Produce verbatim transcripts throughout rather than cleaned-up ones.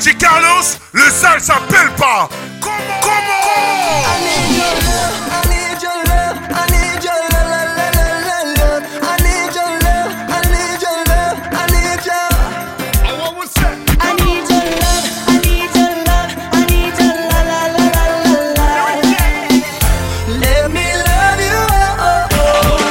D J Carlos, le sale s'appelle pas. Comment? Comment? I need your love, I need your love, I need your love, la, la, la, la, love. I need your love, I need your love, I need your. I want what's that? I need your love, I need your love, I need your la, la, la, la, la, la. Let me love you, oh, oh,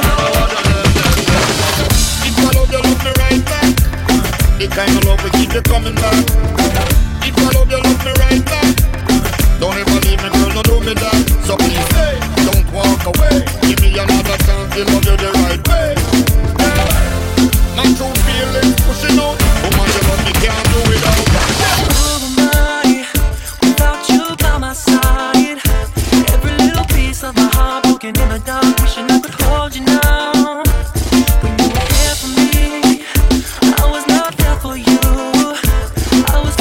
oh. If I love you, love me right back. The kind of love we keep you coming back. If I love you, love me right back. Don't ever leave me, girl, no do me that. So please, hey, don't walk away. Give me another chance to love you the right way. Yeah. My true feelings pushing out. Woman, you love me, can't do without. Who am I without you by my side? Every little piece of my heart broken in the dark, wishing I could hold you now. When you were there for me, I was not there for you. I was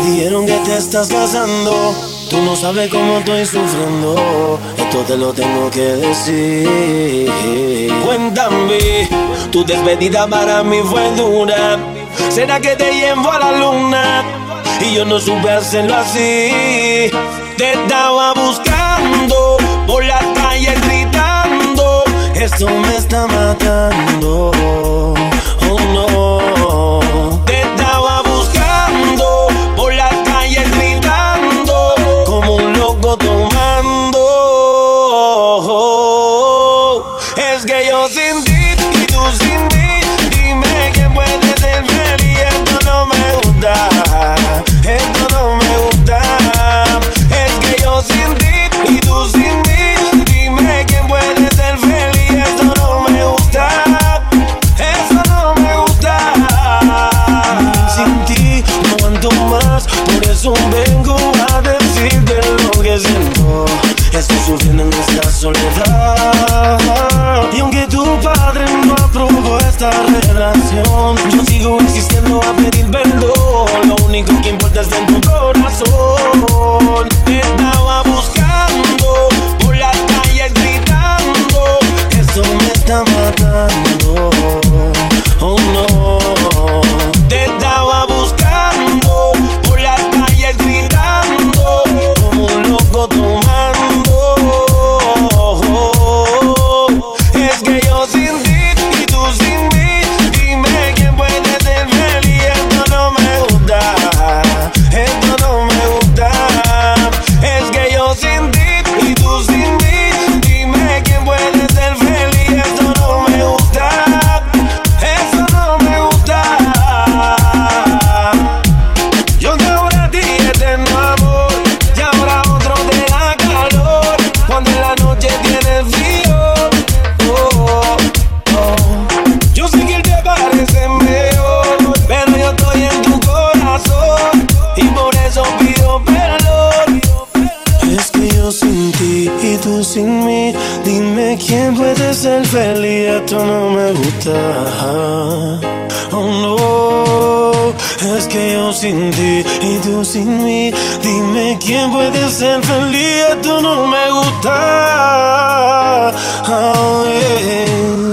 dijeron que te estás casando. Tú no sabes cómo estoy sufriendo. Esto te lo tengo que decir. Cuéntame, tu despedida para mí fue dura. ¿Será que te llevo a la luna? Y yo no supe hacerlo así. Te estaba buscando por las calles gritando. Esto me está matando. Oh no. Te estaba buscando por las calles gritando como un loco tomando. Es que yo sin ti y tú sin mí. Dime quién puede ser feliz. Esto no me gusta. Esto no me gusta. Es que yo sin ti y tú sin mí. Dime quién puede ser feliz. Esto no me gusta. Eso no me gusta. Sin ti no aguanto más. Por eso vengo a decirte lo que siento. Estoy sufriendo en esta soledad. Y aunque tu padre no aprobó esta relación, yo sigo insistiendo a pedir perdón. Lo único que importa es en tu corazón. Te estaba buscando por las calles gritando. Esto me está matando. Oh no. Te estaba buscando por las calles gritando como un loco tomando. Es que yo sin ti y tú sin mí. Dime quién puede ser feliz. Esto no me gusta. Esto no me gusta. Es que yo sin ti y tú sin mí. Dime quién puede ser feliz. Esto no me gusta. Eso no me gusta. Yo te ahora a ti eterno amor. Y ahora otro te da calor. Cuando en la noche tienes frío. Oh, oh. Yo sé que él te parece mejor, pero yo estoy en tu corazón y por eso pido perdón. Es que yo sin ti y tú sin mí. Dime quién puede ser feliz. Esto no me gusta. Oh no. Es que yo sin ti y tú sin mí. Dime quién puede ser feliz. Esto no me gusta. Oh, yeah.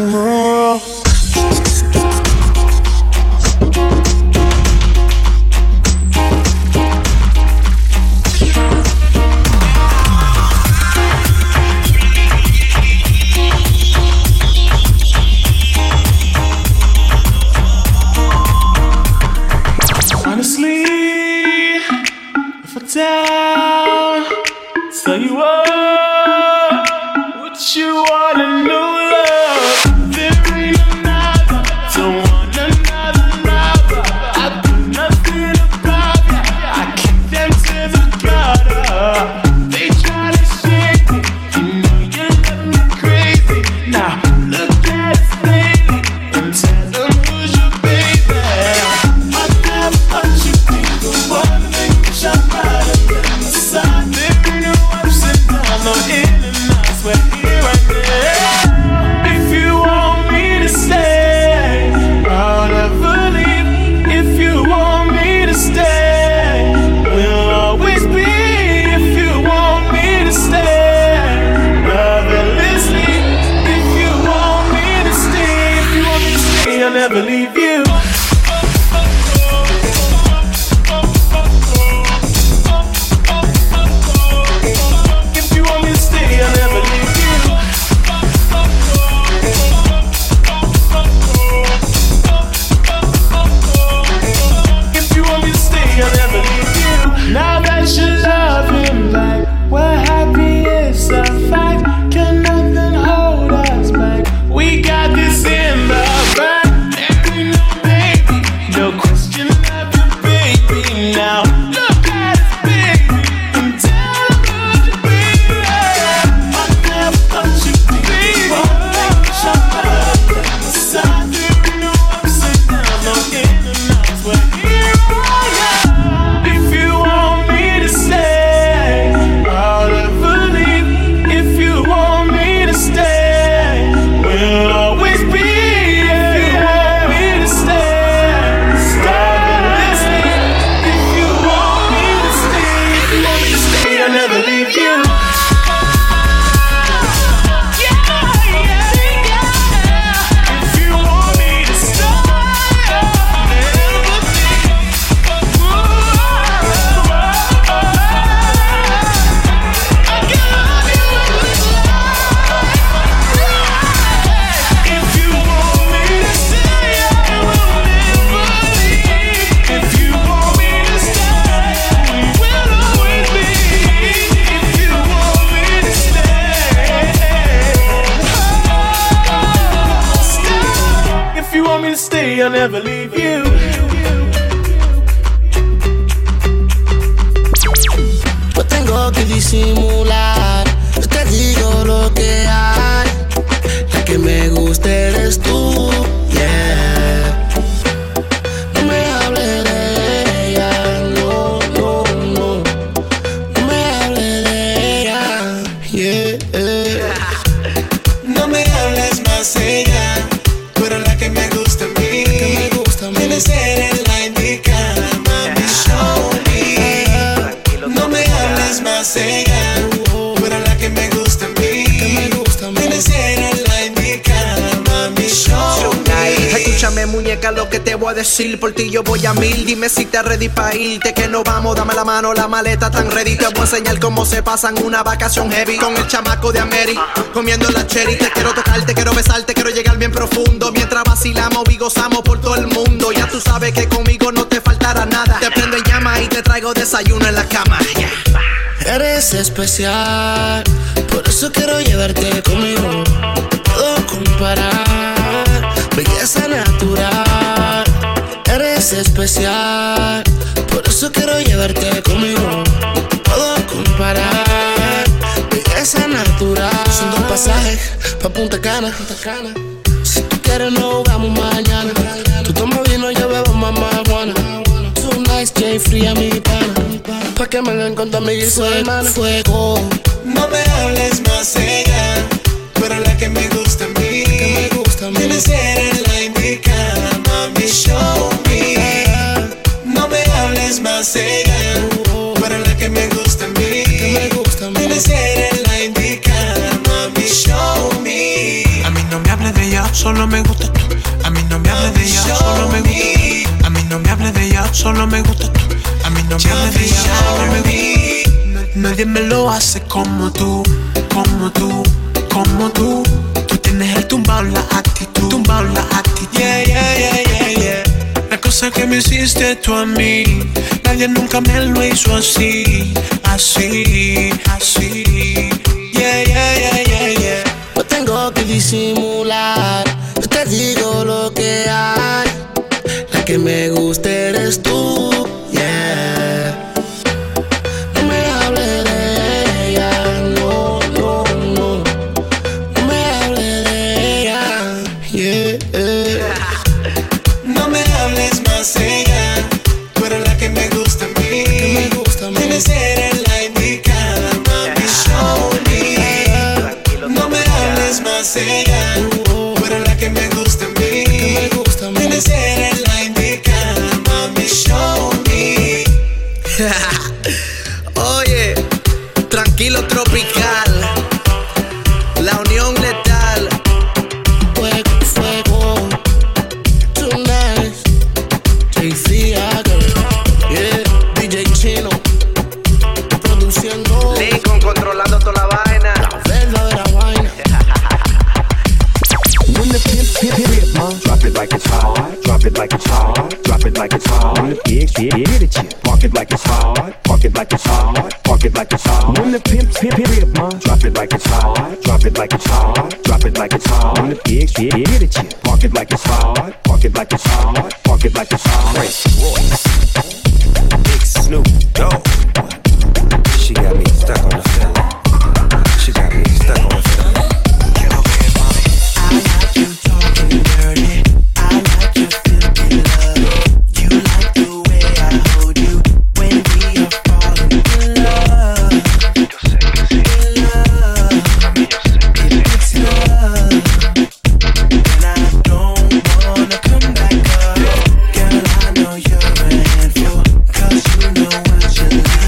Honestly, if I tell, tell you what, what you wanna know, love, there ain't another, don't want another, another. I do nothing about it, I kick them to the gutter. They try to shake me, you know you love me crazy. Now look at us lately and tell them who's your baby. I never thought you'd be the one that shine brighter than the sun. There ain't no ups and downs, no in and outs. We're here right now. If you want me to stay, I'll never leave. If you want me to stay, we'll always be. If you want me to stay, love and listening. If you want me to stay, if you want me to stay, I'll never leave you. If you want me to stay, I'll never leave you. If you want me to stay, I'll never leave you. Now that you love him back, we're happy, it's a fact. Can nothing hold us back? We got this in the back. There ain't no if you want me to stay, I'll never leave you. No tengo que disimular, yo te digo lo que hay. La que me gusta eres tú, yeah. No me hables de ella, no, no, no. No me hables de ella, yeah. No me hables más de ella, pero la que me gusta a mí, Que me gusta a mí. debe ser la indicada, mami, show me. No me hables más de ella, pero la que me gusta a mí, Que me gusta a mí. debe ser la indicada, mami, show me. Escúchame, muñeca, lo que te voy a decir. Por ti yo voy a mil. Dime si te ready pa' irte, que no vamos. Dame la mano, la maleta tan ready. Te voy a enseñar cómo se pasan una vacación heavy con el chamaco de Ameri, comiendo la cherry. Te quiero tocar, te quiero besar, te quiero llegar bien profundo. Mientras vacilamos y gozamos por todo el mundo. Ya tú sabes que conmigo no te faltará nada. Te prendo en llama y te traigo desayuno en la cama, yeah. Eres especial, por eso quiero llevarte conmigo. Puedo comparar, belleza natural. Eres especial, por eso quiero llevarte conmigo. Puedo comparar, belleza natural. Son dos pasajes pa' Punta Cana. Si tú quieres nos vamos mañana. Tú tomas vino, yo bebo más marihuana. Too nice, J fría mi pana. Pa' que me hagan con tu amiga y su hermana. Fuego. No me hables más de ella, pero la que me gusta a mí, Que me gusta a mí. debe ser la indicada, mami, show me. No me hables más de ella, pero la que me gusta a mí, Que me gusta a mí. debe ser la indicada, mami, show me. A mí no me hables de ella, solo me gusta tú. A mí no me hables de ella, solo me gusta tú. A mí no me hables de ella, solo me gusta tú. A mí no me hables de ella, solo me gusta tú. Nadie me lo hace como tú, como tú, como tú. Tú tienes el tumbao, la actitud, tumbao, la actitud. Yeah, yeah, yeah, yeah, yeah. La cosa que me hiciste tú a mí, nadie nunca me lo hizo así, así, así. Yeah, yeah, yeah, yeah, yeah. No tengo que disimular, yo te digo lo que hay. La que me gusta eres tú, yeah. No me hables de ella, no, no, no. No me hables de ella, yeah. No me hables más de ella, pero la que me gusta a mí, Que me gusta a mí. debe ser la indicada, mami, show me. No me hables más de ella, pero la que me gusta a mí, Que me gusta a mí. debe ser la indicada, mami, show me. Oye, tranquilo tropical, la unión letal. Fuego, fuego, too nice. J C yeah, D J Chino, produciendo Lincoln controlando toda la vaina. la verdadera vaina. When the pimp, pimp, pimp, ma, drop it like it's hot, drop it like it's hot, drop it like it's hot. When the pig, shit, get it, yeah. Park it like it's hot, park it like it's hot, park it like it's hot. When the pimp, pimp, pimp, ma, drop it like it's hot, drop it like it's hot, drop it like it's hot. When the pig, shit, get it, yeah. Park it like it's hot, park it like it's hot, park it like it's hot. Prince Royce, Big Snoop Dogg. She got me stuck on the feeling. She got me stuck on the feeling. I like you talking dirty. I like your filthy love. You like the way I hold you when we are falling in love. In love, it's love, and I don't wanna come back up. Girl, I know you're a handful, 'cause you know what you like.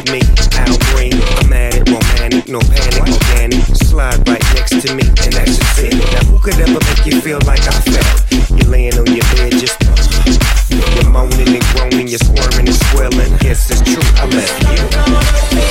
me, Al Green. I'm at it, romantic, no panic, organic. Slide right next to me, and that's a ten. Now who could ever make you feel like I felt? You're laying on your bed, just you're moaning and groaning, you're squirming and swelling. Yes, it's true, I left you.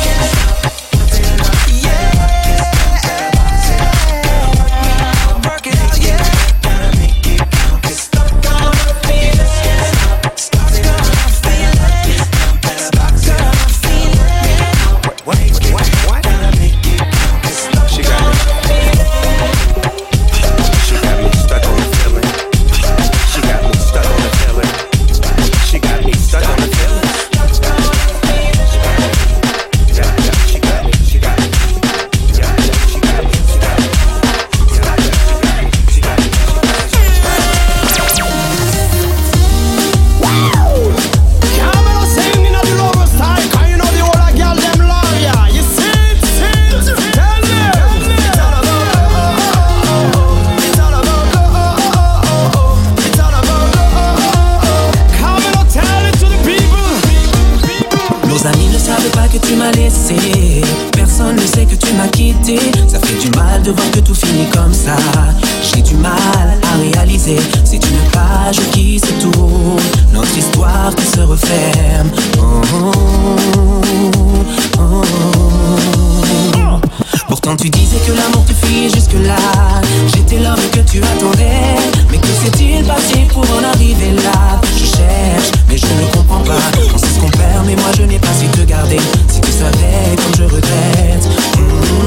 Ça fait du mal de voir que tout finit comme ça. J'ai du mal à réaliser. C'est une page qui se tourne, notre histoire qui se referme. Oh, oh, oh, oh. Pourtant tu disais que l'amour te fuyait jusque là. J'étais l'homme que tu attendais. Mais que s'est-il passé pour en arriver là? Je cherche, mais je ne comprends pas. On sait ce qu'on perd, mais moi je n'ai pas su te garder. Si tu savais comme je regrette. Mmh,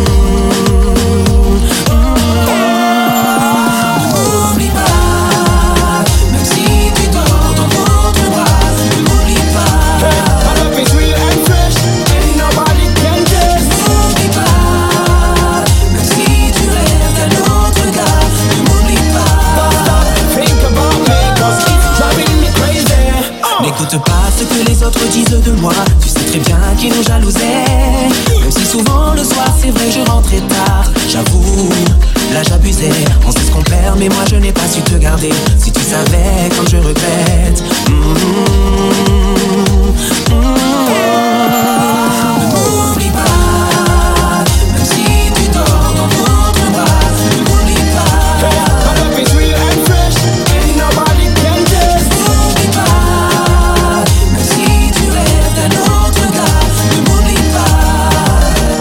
mmh, ne m'oublie pas, même si tu dors dans d'autres bras. Ne m'oublie pas. My love is real and fresh, and nobody can guess. Ne m'oublie pas, même si tu rêves d'un autre gars. Ne m'oublie pas. Think about me, cause it's driving me crazy. N'écoute pas ce que les autres disent de moi. Tu sais très bien qu'ils nous jalousait. Même si souvent le soir c'est vrai je rentrais tard. J'avoue, là j'abusais. On sait ce qu'on perd mais moi je n'ai pas su te garder. Si tu savais comme je regrette. Mmh, mmh, ne m'oublie pas, même si tu dors dans d'autres bras. Ne m'oublie pas. My love is real and fresh, and nobody can guess. Ne m'oublie pas, même si tu rêves d'un autre gars. Ne m'oublie pas.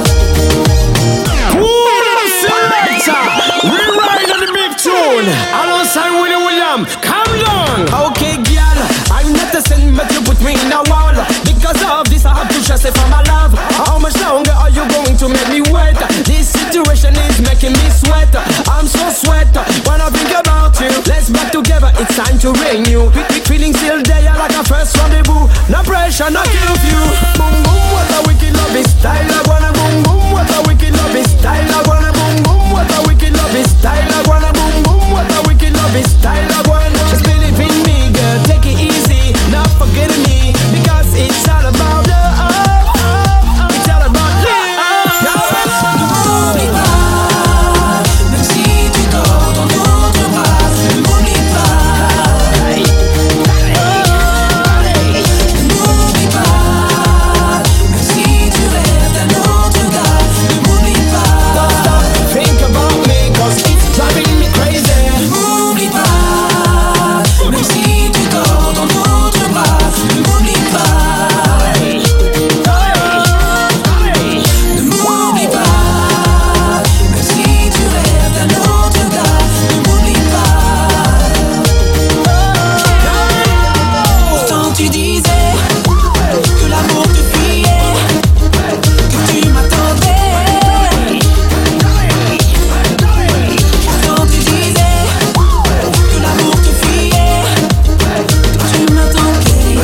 Ooh, selector, we ride on the big tune. Alongside Willie William, calm down. Okay, girl, I'm not a sin, but you put me in a wall. Because of this, I have to just say for my love. How much longer are you going to make me wait? This situation is making me sweat. I'm so sweat when I think about you. Let's back together, it's time to renew. Feeling still there like a first rendezvous. No pressure, no curfew. Boom boom, what a wicked love is style. I wanna boom boom, what a wicked love is style. I wanna boom boom, what a wicked love is style. I wanna boom boom, what a wicked love is style. I wanna just believe in me, girl. Take it easy, not forgetting me, because it's all about love. It's all about love. Ne m'oublie pas, même si tu dors dans d'autres bras. Ne m'oublie pas. Ne m'oublie pas, même si tu rêves d'un autre gars. Ne m'oublie pas. Think about me, cause it's driving me crazy. Ne m'oublie pas, même si tu dors dans d'autres bras. Ne m'oublie pas. Ne m'oublie pas, même si tu rêves d'un autre gars. Ne m'oublie pas. Pourtant tu disais que l'amour te fuyait, que tu m'attendais. Pourtant tu disais que l'amour te fuyait, que tu m'attendais.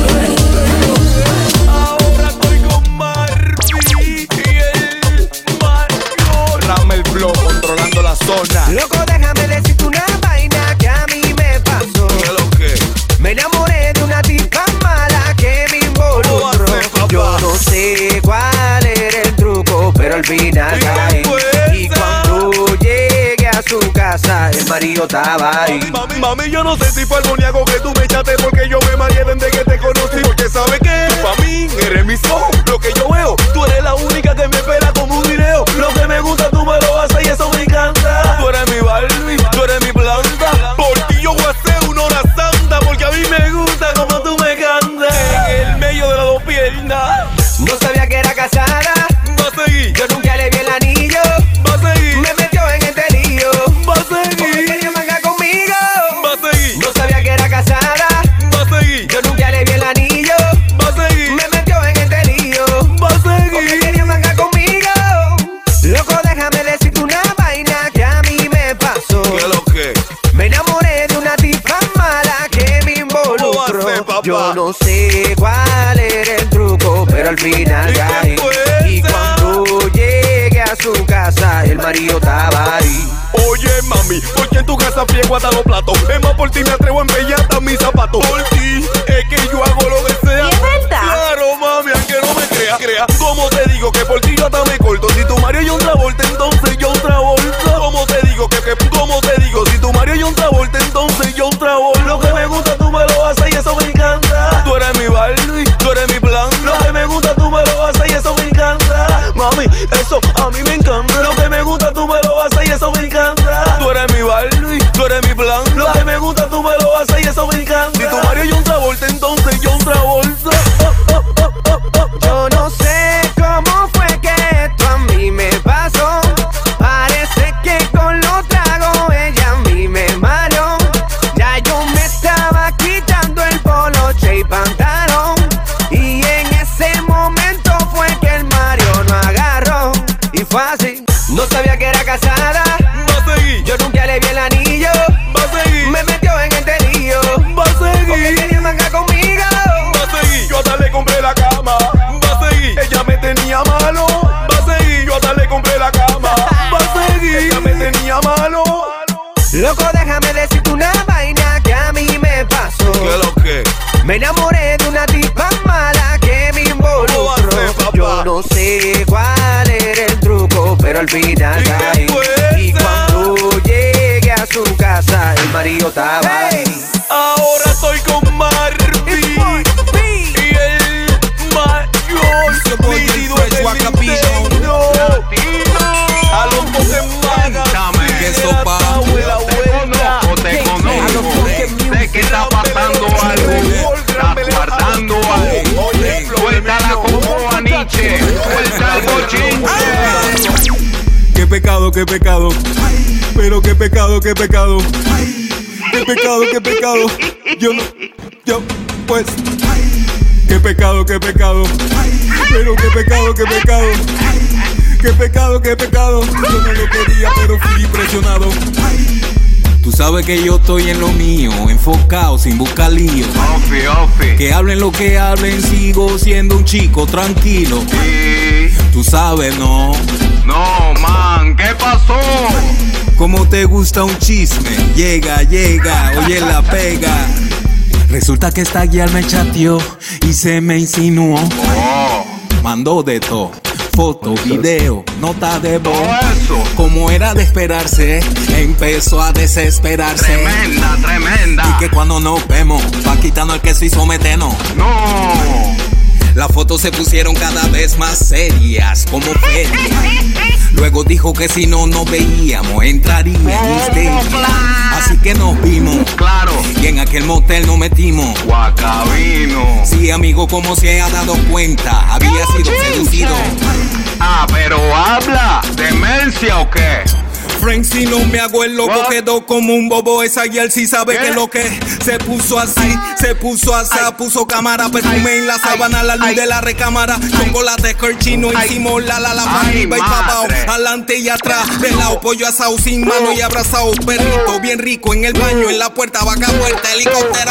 Ahora estoy con Marvin y el Mario. Rama el flow controlando la zona. Loco, déjame decirte una vaina que a mí me pasó. ¿Qué es lo que? Me enamoré de una tipa mala que me involucró. ¿Cómo va a ser, papá? Yo no sé cuál era el truco, pero al final ¿Y caí. qué fue Y esa? cuando llegué a su casa, el marido estaba ahí. Mami, mami, yo no sé si fue algo ni algo que tú me echaste, porque yo me mareé desde que te conocí. Porque sabes que tú pa' mí eres mi son. Lo que final caí. Y cuando llegué a su casa, el marido estaba ahí. Oye, mami, ¿por qué en tu casa friego hasta los platos? Es más, por ti me atrevo a embellar hasta mis zapatos. Por ti es que yo hago lo que sea. ¿Y es verdad? Claro, mami, aunque no me creas, crea. ¿Cómo te digo que por ti yo hasta me corto? Si tu Mario y un Travolta, entonces yo un Travolta. ¿Cómo te digo que, que, cómo te digo? Si tu Mario y un Travolta, entonces yo un Travolta. Lo que me gusta tú me lo haces y eso me encanta. Tú eres mi Barbie, tú eres mi plan. Lo que me gusta tú me lo haces y eso me encanta. Mami, eso a mí me encanta. Lo que me gusta tú me lo haces y eso me encanta. Tú eres mi Barbie, tú eres mi plan. Lo que me gusta tú me lo haces y eso me encanta. Si tu Mario y un Travolta, entonces yo un Travolta. Oh, oh, oh, oh, oh. Yo no sé cómo fue que esto a mí me pasó. Parece que con los tragos ella a mí me mareó. Ya yo me estaba quitando el poloche y pantalón. Y en ese momento fue que el Mario no agarró. Y fue así, no sabía que era casada. Va a seguir, Yo nunca le vi el anillo. va a seguir, Me metió en el terillo. va a Porque seguir, quería manga conmigo. va a seguir. Yo hasta le compré la cama. Va a seguir, ella me tenía malo. Va a seguir, yo hasta le compré la cama. Va a seguir, ella me tenía malo. Loco, déjame decirte una vaina que a mí me pasó. ¿Qué lo que? Me enamoré de una tipa mala que me ¿Cómo va a involucró. ser, papá? Yo no sé cuál era el truco, pero al final ¿Y qué caí. fue Y esa? cuando llegué a su casa, el marido estaba ahí. Ahora estoy con Marvin y el mayor nítido en el Nintendo. A los Pokémon ¿Qué sopa? Te conozco, sé que está pasando algo, estás guardando algo. Suéltala como a Nietzsche, suelta el bochinche. Qué pecado, qué pecado. Pero qué pecado, qué pecado. Qué pecado, qué pecado. Yo no, yo, pues. Qué pecado, qué pecado. Pero qué pecado, qué pecado. Qué pecado, qué pecado. Yo no lo quería, pero fui presionado. Tú sabes que yo estoy en lo mío, enfocado, sin buscar lío. Ofi, ofi. Que hablen lo que hablen, sigo siendo un chico tranquilo. Sí. Tú sabes, ¿no? No, man, ¿qué pasó? Como te gusta un chisme, llega, llega, oye la pega. Resulta que esta guía me chateó y se me insinuó. Oh. Mandó de todo, foto, video, nota de voz. Todo eso. Como era de esperarse, empezó a desesperarse. Tremenda, tremenda. Y que cuando nos vemos, va quitando el queso y someternos. No. Las fotos se pusieron cada vez más serias, como feria. Luego dijo que si no nos veíamos, entraría en histeria. Así que nos vimos, claro, y en aquel motel nos metimos. Guacabino. Sí, amigo, como se ha dado cuenta, había sido seducido. Ah, pero habla, ¿demencia o qué? Frank, si no me hago el loco, What? quedó como un bobo. Esa guial sí sabe ¿Qué? que lo que se puso así, se puso así, puso cámara, perfume en la sábana, la luz de la recámara, chocolate chino, hicimos la la la pa' Ay, arriba y pa' abajo, madre. adelante y atrás, de lado pollo asado sin mano y abrazado, perrito bien rico en el baño, en la puerta, vaca muerta, helicóptero.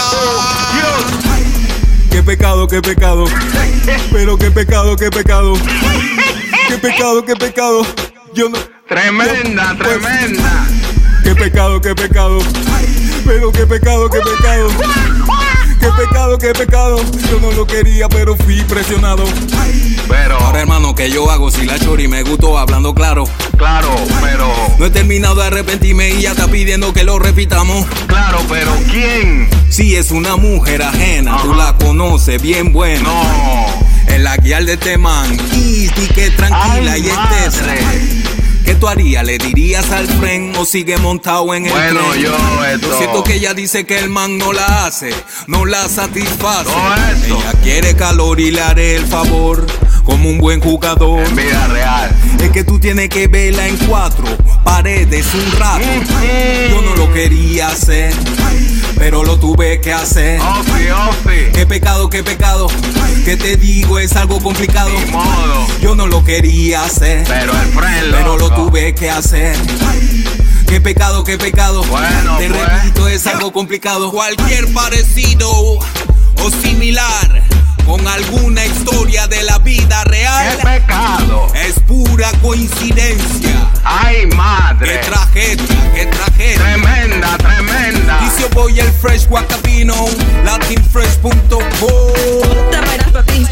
Qué pecado, qué pecado, pero qué pecado, qué pecado, qué pecado, qué pecado. Yo no. Tremenda, yo, pues, tremenda. Qué pecado, qué pecado. Pero qué pecado, qué pecado. Qué pecado, qué pecado. Yo no lo quería, pero fui presionado. Pero, Ahora, hermano, ¿qué yo hago si la chori me gustó hablando claro? claro, pero, No he terminado de arrepentirme y ya está pidiendo que lo repitamos. claro, pero ¿quién? Si es una mujer ajena, tú la conoces bien buena. No. Es la guía de este man. Y que tranquila Ay, y madre. estés. ¿Qué tú harías? ¿Le dirías al friend o sigue montado en el Bueno, tren? yo esto- Lo cierto que ella dice que el man no la hace, no la satisface. Todo eso. Ella quiere calor y le haré el favor, como un buen jugador. En vida real. Es que tú tienes que verla en cuatro paredes un rato. Yo no lo quería hacer, pero lo tuve que hacer. Ofi, ofi. Qué pecado, qué pecado. Que te digo es algo complicado. Ni modo. Yo no lo quería hacer, Pero el friend pero lo loco. tuve que hacer. Qué pecado, qué pecado. Bueno, te pues. repito, es algo complicado. Cualquier parecido o similar con alguna historia de la vida real. ¡Qué pecado! Es pura coincidencia. ¡Ay, madre! ¡Qué tragedia, qué tragedia! ¡Tremenda, tremenda! Dice voy el Fresh Guacabino, latin fresh punto com. Te bailas para ti.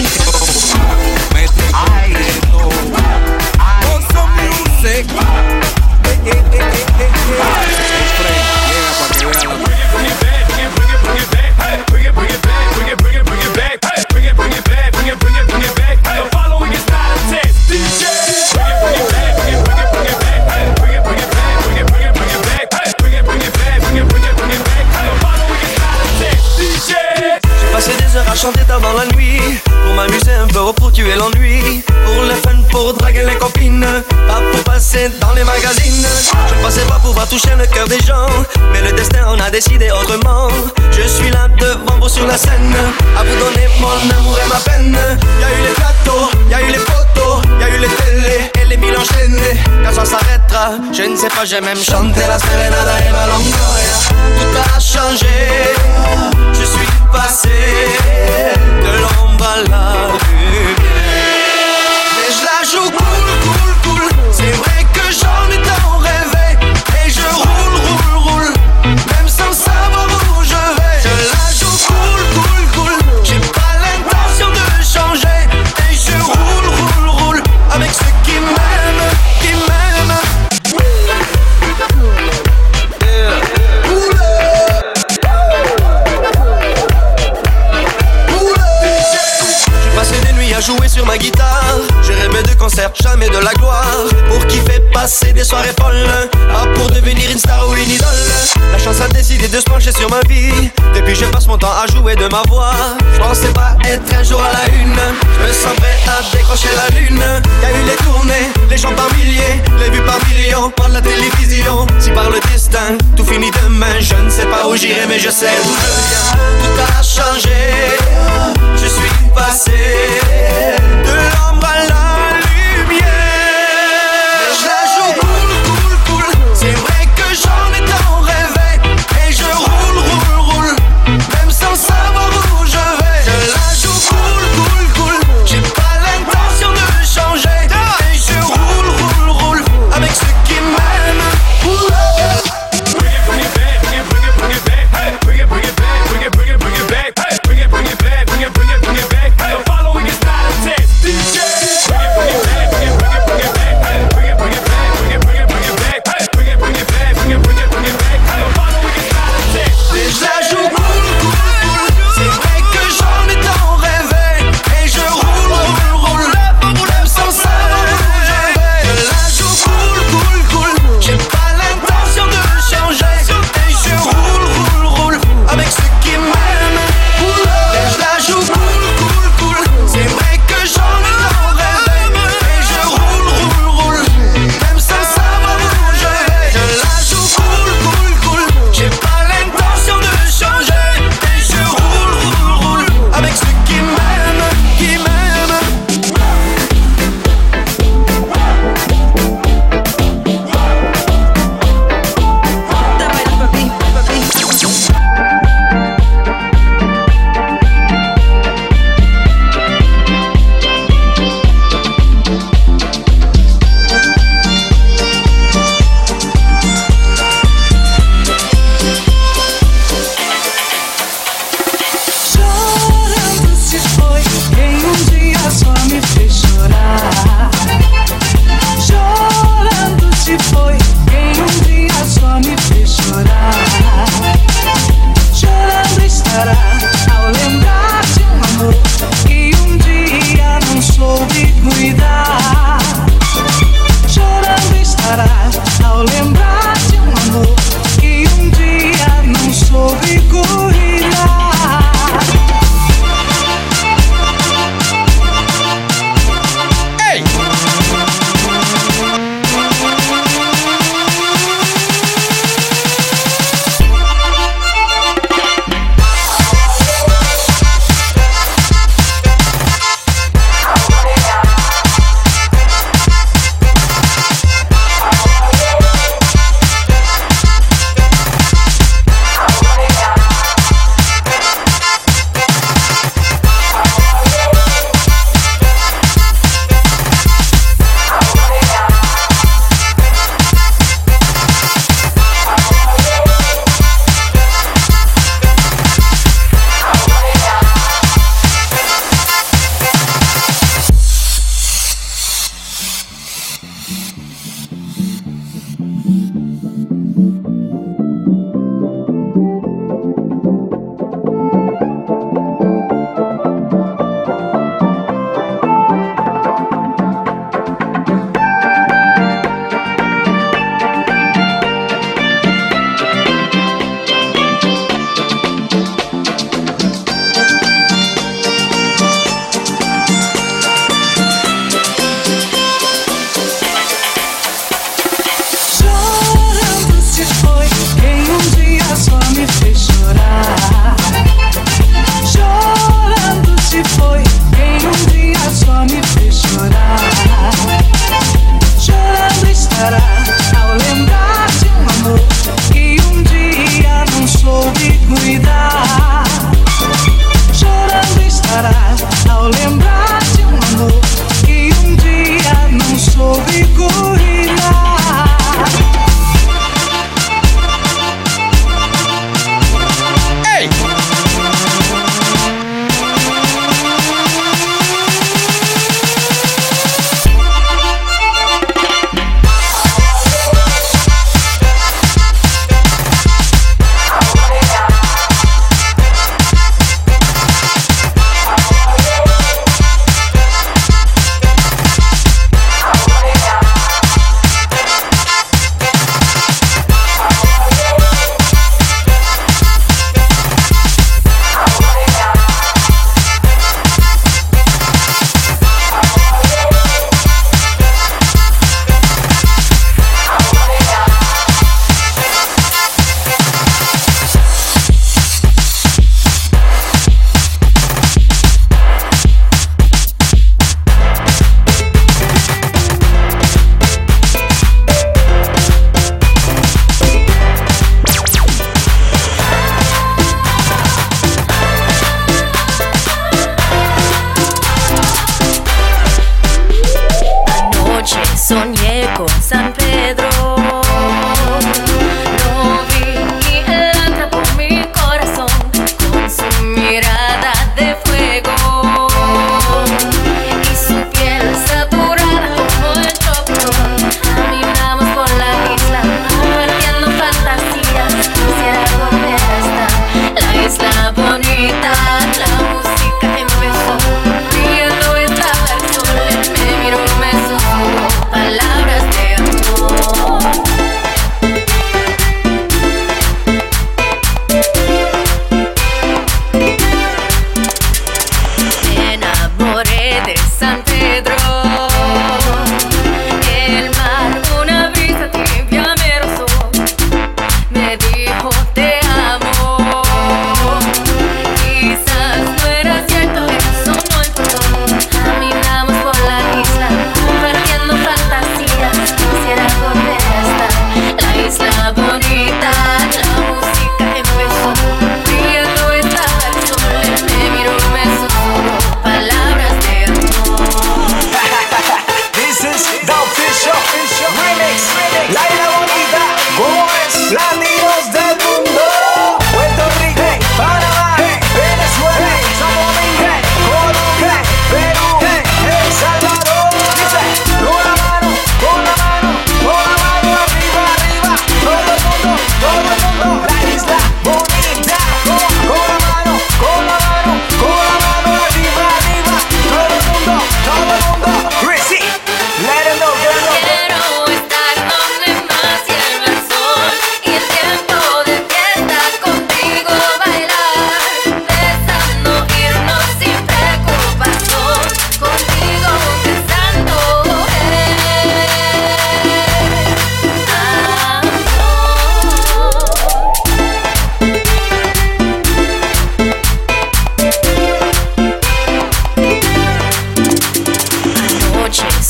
Ay, Oso Music. J'ai passé des heures à chanter tard dans la nuit, pour m'amuser un peu, pour tuer l'ennui, pour le fun, pour draguer les copines, pas pour passer dans les magazines. Je ne pensais pas pouvoir toucher le cœur des gens, mais le destin en a décidé autrement. Je suis là devant vous sur la scène, à vous donner mon amour et ma peine. Y'a eu les plateaux, y'a eu les photos, y'a eu les télés et les mille enchaînés. Quand ça s'arrêtera, je ne sais pas, j'ai même chanté la serenada et ma longoria. Tout a changé, je suis passé de l'ombre à la lumière. Mais je la joue cool, cool, cool. C'est vrai que j'en ai tant rêvé. Et je roule, roule, roule, même sans savoir où je vais. Je la joue cool, cool, cool. J'ai pas l'intention de changer. Et je roule, roule, roule avec ceux qui m'aiment, qui m'aiment. À jouer sur ma guitare, j'ai rêvé de concerts, jamais de la gloire. Pour kiffer, passer des soirées folles, pas pour devenir une star ou une idole. La chance a décidé de se pencher sur ma vie. Depuis je passe mon temps à jouer de ma voix. Je pensais pas être un jour à la une. Je me sens prêt à décrocher la lune. Y'a eu les tournées, les gens par milliers, les vues par millions, par la télévision. Si par le destin, tout finit demain. Je ne sais pas où j'irai, mais je sais d'où je viens. Tout a changé, je suis passé de l'ombre à la lumière. Mais je la joue cool, cool, cool. C'est vrai que j'en ai tant rêvé. Et je roule, roule, roule, même sans savoir où je vais. Je la joue cool, cool, cool. J'ai pas l'intention de changer. Et je roule, roule, roule avec ceux qui m'aiment. D J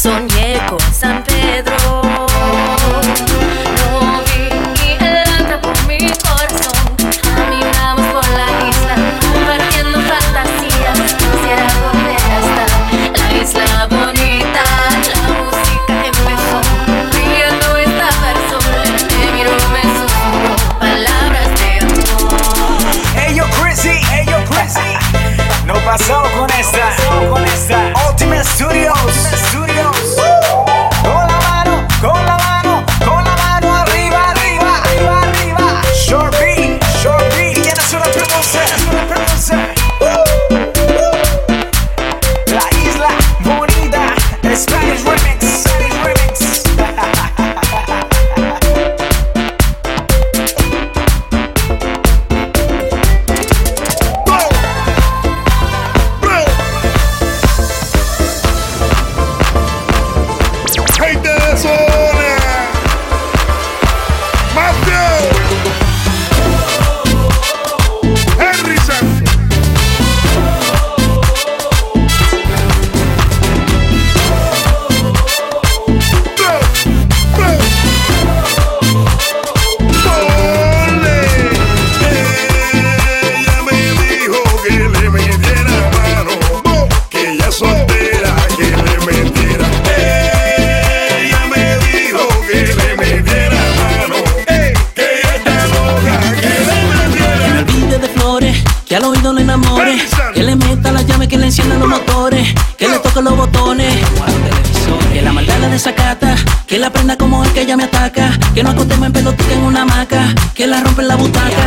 Soñé con San Pedro, no vi y él anda por mi corazón. Caminamos por la isla, compartiendo fantasías. Quisiera volver a estar la isla bonita. La música empezó, brillando estaba el sol. Me miró, me susurró palabras de amor. Hey yo Chrissy, hey yo Chrissy, no pasó con esta, con esta Ultimate Studios. Con la mano, con la mano, con la mano arriba, arriba, arriba, arriba. Short beat, short beat. ¿Quién es una producer? Una producer. La isla bonita, Spanish remix, Spanish remix. Que al oído le enamore, que le meta la llave, que le encienda los motores, que le toque los botones, que la maldad la desacata, que la prenda como el que ella me ataca, que no acostemos en pelotica en una hamaca, que la rompe en la butaca.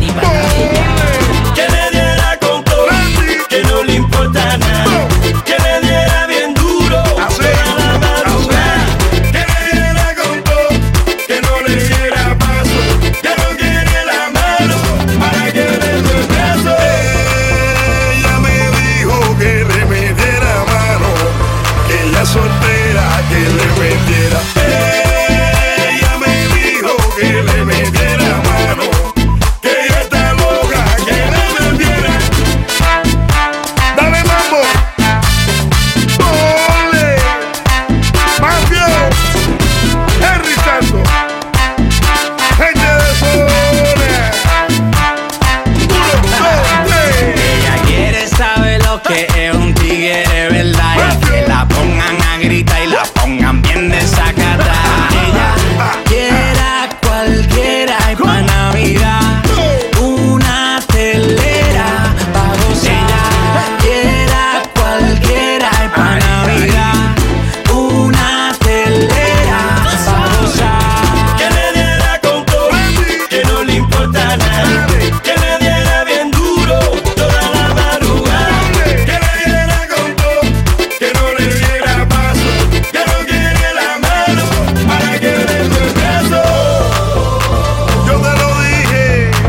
Que le diera con todo, que no le importa nada, que le diera bien duro toda la madrugada, que le diera con todo, que no le diera paso, que no quiere la mano para que le dé su brazo. Ella me dijo que le metiera mano, que ella soltera, que le metiera. Ella me dijo que le metiera mano, que ella está loca, que le metiera. Dale mambo, ole, Mafio, Henry Santos, gente de zona. Uno, dos, tres. Ella quiere saber lo que es un tigre, ¿verdad? Y que la pongan a gritar y la pongan bien desacata. Ella quiera cualquiera y pa' Navidad una telera pa' gozar. Ella quiera cualquiera y pa' Navidad una telera pa' gozar. Que le diera con todo, que no le importa nada, que le diera bien duro toda la madrugada, que le diera con todo, que no le diera paso, que no quiere la mano para que le dé su brazo. Yo te lo dije,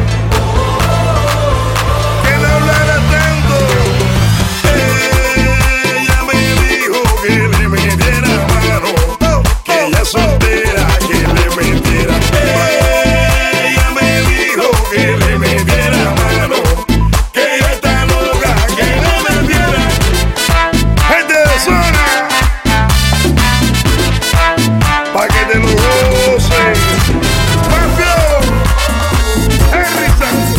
que no hablara tanto. Ella me dijo que le metiera mano, que ella soltera, que le metiera. Ella me dijo que le metiera mano, que ella está loca, que le metiera. Gente de zona, pa' que te lo goces. Mafio, Henry Santos,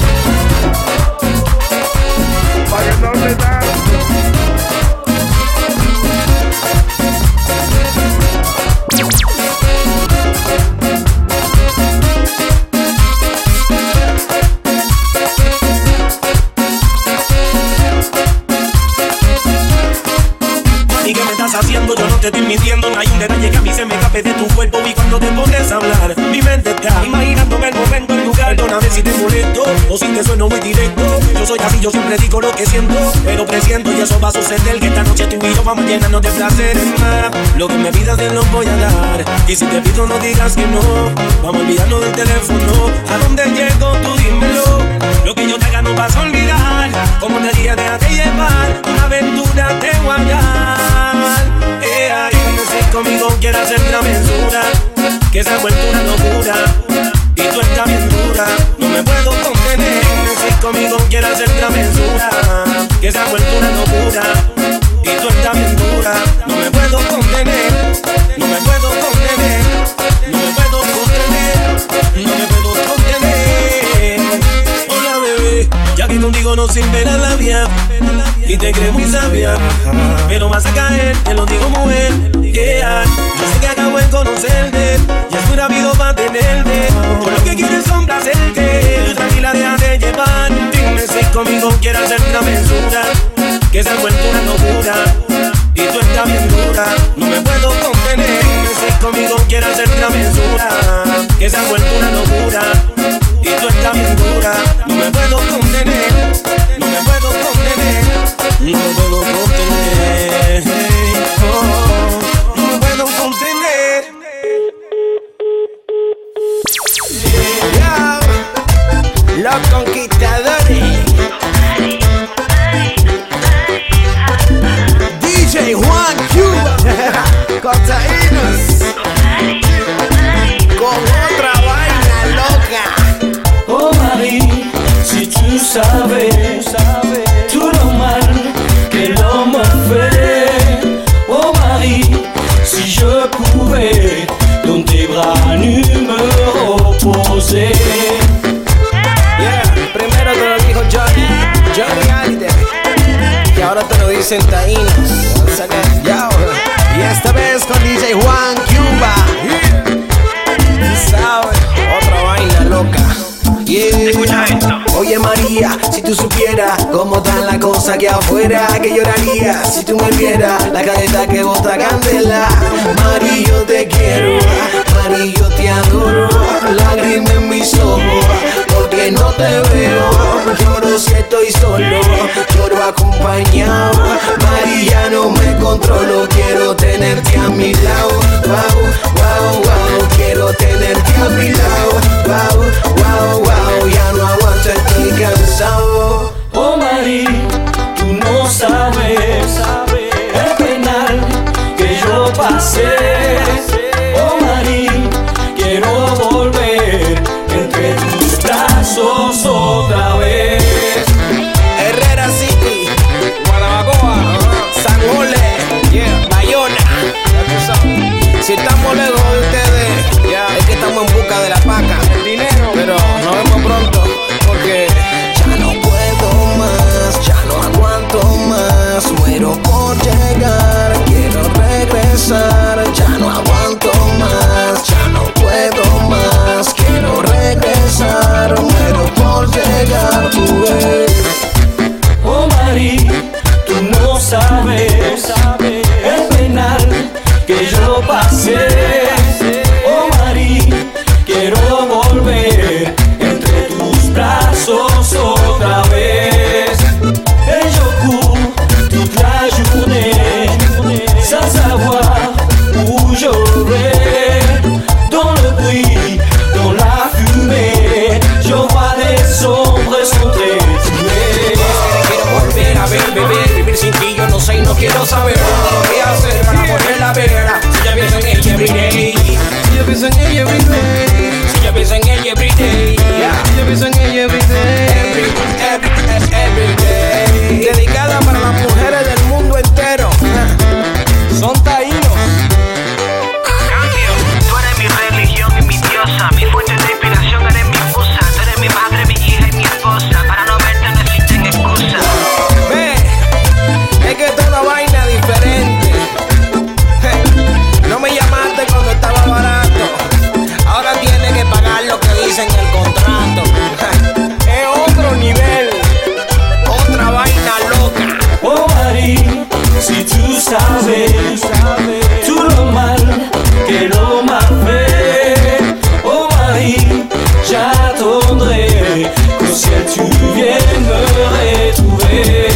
pa' que no le tanto. ¿Y qué me estás haciendo? Yo no te estoy mintiendo. No hay un detalle que a mí se me escape de tu cuerpo. Y cuando te pones a hablar, mi mente está imaginándome el momento, el lugar. Perdóname si te molesto o si te sueno muy directo. Yo soy así, yo siempre digo lo que siento, pero presiento y eso va a suceder. Que esta noche tú y yo vamos a llenarnos de placer más. Lo que me pidas te lo voy a dar. Y si te pido no digas que no. Vamos a olvidarnos del teléfono. ¿A dónde llego? Tú dímelo. Lo que yo te haga no vas a olvidar. Como te dije, déjate llevar. Una aventura te voy a dar. Eh, ay, si conmigo quieres hacer travesura, que se ha vuelto una locura. Y tú estás bien dura, no me puedo contener. Si conmigo quieres hacer travesura, que se ha vuelto una locura. Y tú estás bien dura, no me puedo contener. no me puedo contener, no me puedo contener, no me puedo contener. Hola bebé, ya que contigo no sirve la labia y te crees muy sabia, pero vas a caer, te lo digo mujer, yeah. Yo sé que acabo de conocerte y es muy rápido para tenerte. Yo lo que quiero es complacerte, tranquila déjate llevar. Dime si conmigo quieres hacer una mensura, que se ha vuelto una locura y tú estás bien dura, no me puedo contener. Dime si conmigo quieres hacer una mensura, que se ha vuelto una locura y tú estás bien dura, no me puedo contener, no me puedo contener, no me puedo contener, oh, no me puedo contener. Yo, los conquistadores. D J Juan Cuba, Cotaínos, con otra vaina loca. Oh Marie, si tu savais, tout le mal que l'homme fait. Oh Marie, si je pouvais dans tes bras nus me reposer. Yeah, primero te lo dijo Johnny, Johnny Hallyday, y ahora te lo dicen taínos. Yo, y esta vez con D J Juan Cuba. Yeah. ¿Sabes? Otra vaina loca. Yeah. Escucha esto. Oye María, si tú supieras cómo están las cosas aquí afuera, que lloraría si tú me vieras la careta que bota candela. María, yo te quiero, María, yo te adoro, lágrimas en mis ojos, porque no te veo. Lloro si estoy solo, lloro acompañado. María, no me controlo, quiero tenerte a mi lado. Wow, wow, wow, quiero tenerte a mi lado. Wow, wow, wow, ya no aguanto, estoy cansado. Oh Marie, tú no sabes el penal que yo pasé. Oh Marie, quiero volver entre tus brazos otra vez. Herrera City, Guanabacoa, San Jole, yeah, Bayona. Si estamos lejos de ustedes, yeah, es que estamos en busca de la paca, el dinero, pero nos vemos pronto, porque ya no puedo más, ya no aguanto más, muero por llegar, quiero regresar, ya no aguanto más, ya no puedo más, quiero regresar, muero por llegar, tú ves. Oh Marie, tú no sabes el penal que yo pasé. Oh Marie, quiero volver entre tus brazos otra vez. Et je cours toute la journée sans savoir où je vais. Dans le bruit, dans la fumée, je vois des ombres s'entrer. Quiero volver a ver, beber, vivir sin ti yo no sé y no quiero saber lo que voy a hacer para volverla a ver. Si ya pienso en ella everyday, si yo pienso en ella everyday, si yo pienso en ella everyday, si yo pienso en ella everyday, every, every, everyday. Dedicada para las mujeres del mundo entero. Son taínos. Cambio, tú eres mi religión y mi diosa, mi fuente de inspiración, eres mi musa, tú eres mi madre, mi hija y mi esposa. Para no verte no existen excusas. Ve, es que toda vaina diferente. No me llamaste cuando estaba barato, ahora tienes que pagar lo que dice en el contrato. Es otro nivel, otra vaina loca. Oh Marie, si tu savais tout le mal que l'homme a fait. Oh Marie, j'attendrai qu'au ciel tu viennes me retrouver.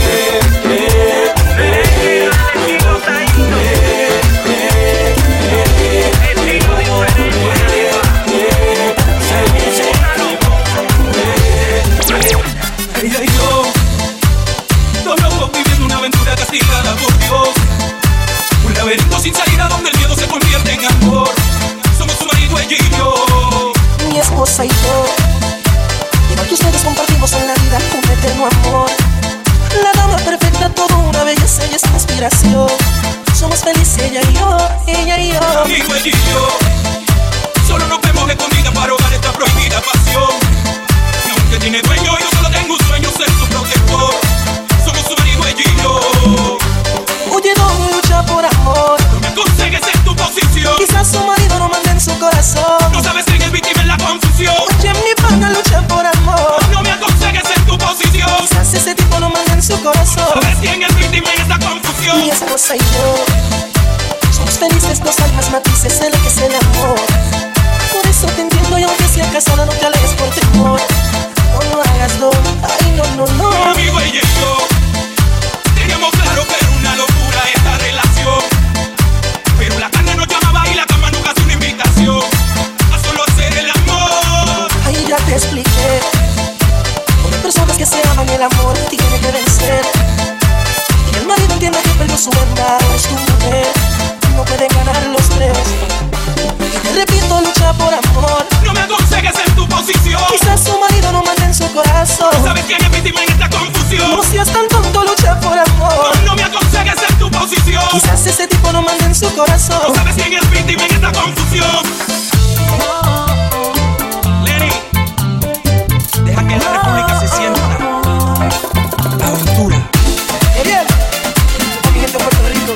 Ella y yo, dos locos viviendo una aventura castigada por Dios. Un laberinto sin salida donde el miedo se convierte en amor. Somos su marido, ella y yo. Mi esposa y yo, y lo que ustedes compartimos en la vida, un eterno amor. La dama perfecta, toda una belleza y es una inspiración. Somos felices ella y yo. ella y yo. Amigo ella y yo, solo nos vemos escondidas para ahogar esta prohibida pasión. Y aunque tiene dueño, yo solo tengo un sueño, ser su protector. Somos su amigo ella y yo. Oye, no lucha por amor. No me consigues en tu posición. Quizás su marido no manda en su corazón. No sabes quién es víctima en la confusión. Oye, mi pana lucha por amor. No me aconsejes en tu posición. Quizás ese tipo no manda en su corazón. No sabes quién es víctima en esta confusión. Mi esposa y yo somos felices, dos almas matices en lo que es el amor. Por eso te entiendo y aunque sea casada no te alejes por temor. No lo hagas, no, ay no, no, no. Mi amigo ella y yo teníamos claro que era una locura esta relación, pero la carne nos llamaba y la cama nunca hace una invitación a solo hacer el amor. Ay, ya te expliqué. Hay personas que se aman y el amor tiene que vencer. Y el marido entiende que perdió su verdad, es tu mujer. No pueden ganar los tres. Y te repito, lucha por amor. No me aconsejes en tu posición. Quizás su marido no manda en su corazón. No sabes quién es víctima en esta confusión. No seas tan tonto, lucha por amor. No, no me aconsejes en tu posición. Quizás ese tipo no manda en su corazón. No sabes quién es víctima en esta confusión. Lenny, deja que la república se sienta. Aventura. Ariel, mi gente de Puerto Rico.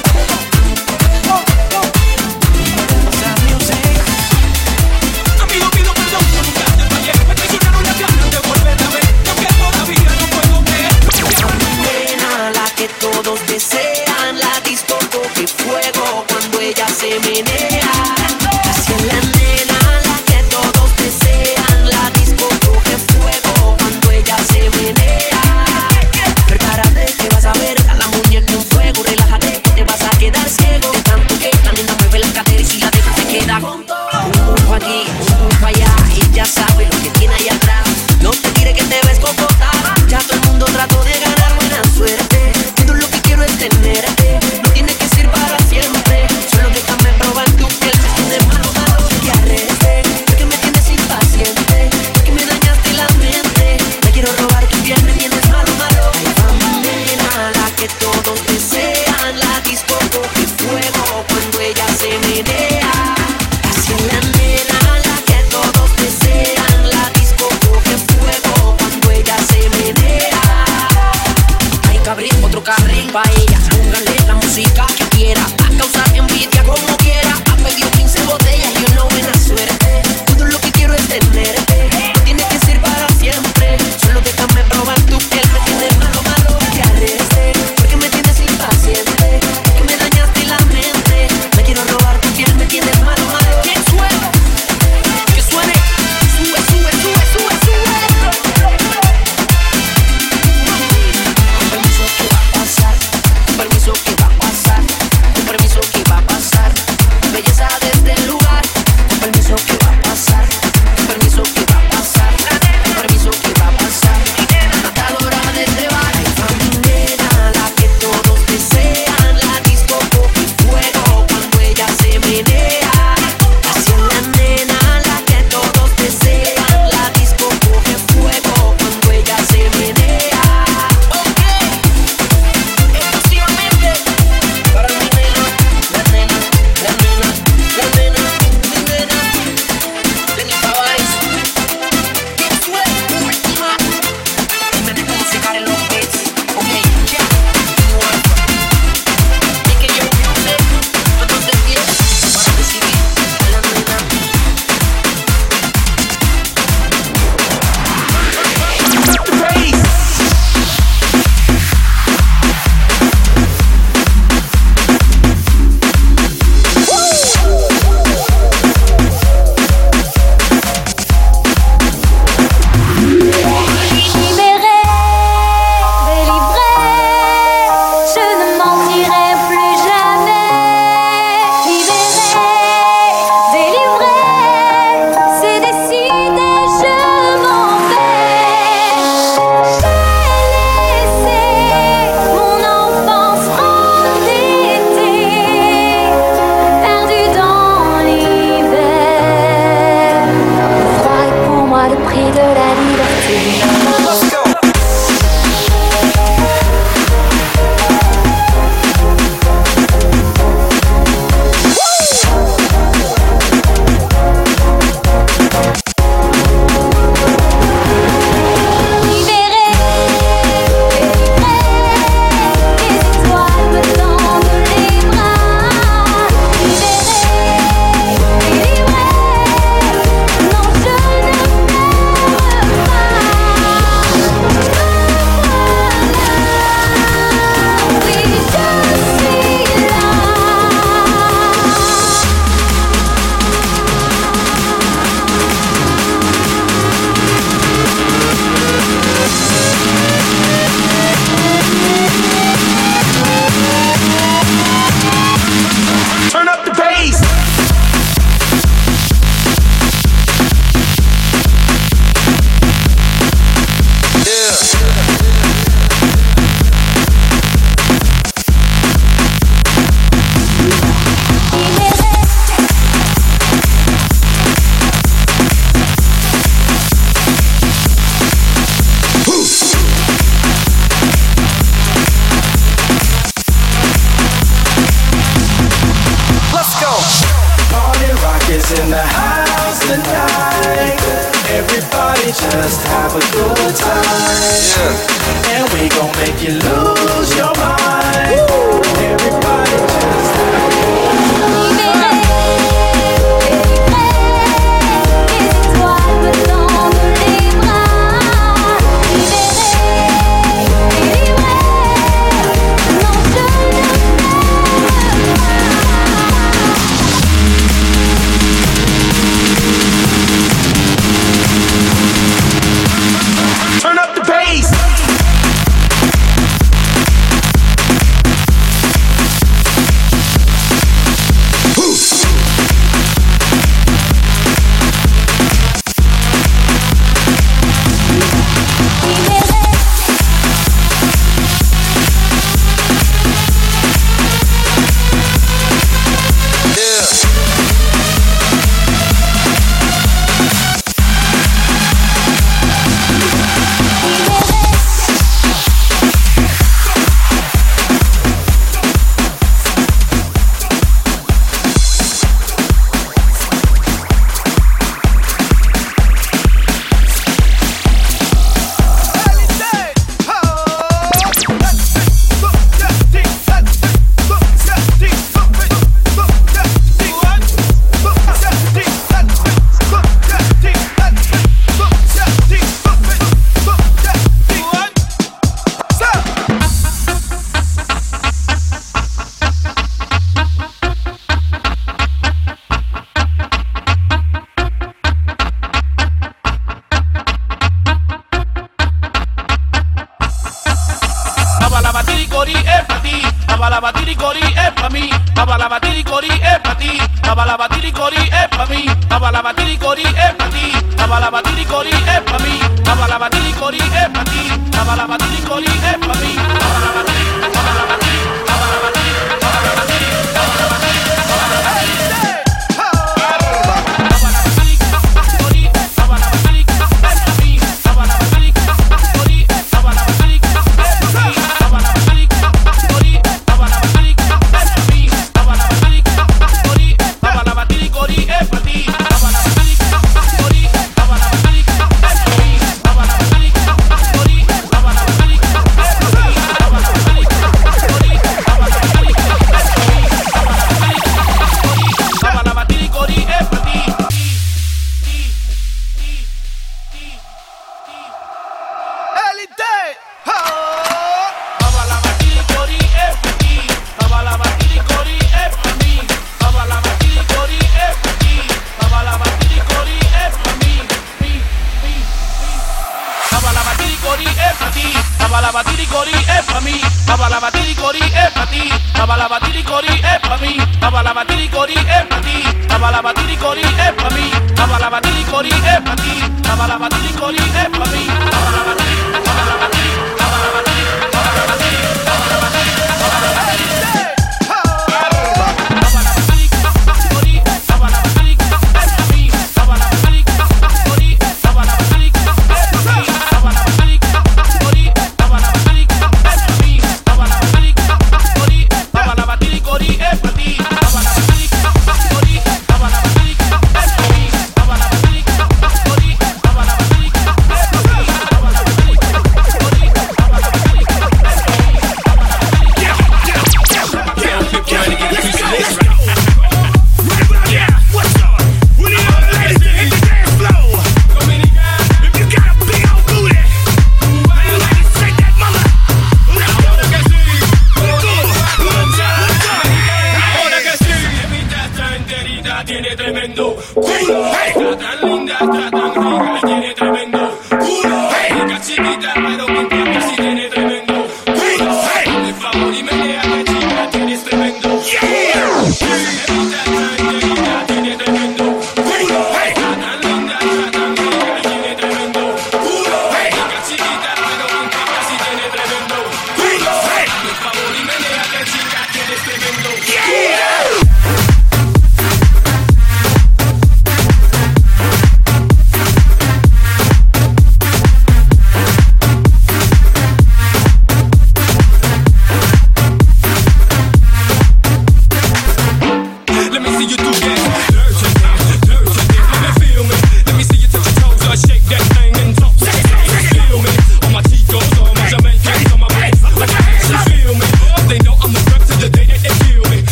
Amigo, pido perdón por nunca te fallé. Me traicionaron las ganas de volver a ver. Aunque todavía no puedo creer. Nena, la que todos desean. La disco coge fuego cuando ella se menea. Así es la nena, la que todos desean. La disco coge fuego cuando ella se menea. Prepárate que vas a ver a la muñeca en fuego. Relájate que te vas a quedar ciego. De tanto que la nena mueve la cadera y si la deja se queda junto. Un poco aquí, un poco allá. Y ya sabe lo que tiene ahí atrás. No te tires que te ves cocota. Ya todo el mundo trató de ganar buena suerte. Todo lo que quiero es tenerte. No tiene que ser para siempre. Solo déjame probar tu piel. is in the house tonight. Everybody just have a good time. And we gon' make you lose your mind. Everybody just have a good time. Turn up the bass.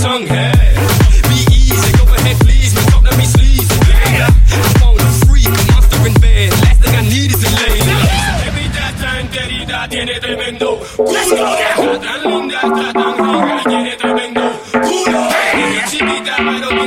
tongue. Hey, be easy, go ahead, please. No stop, let me sleaze. Yeah, I want a freak, a monster in bed. Last thing I need is a lady. Evita tan querida, tiene tremendo culo. Está tan linda, está tan rica, tiene tremendo culo. Chiquita, pero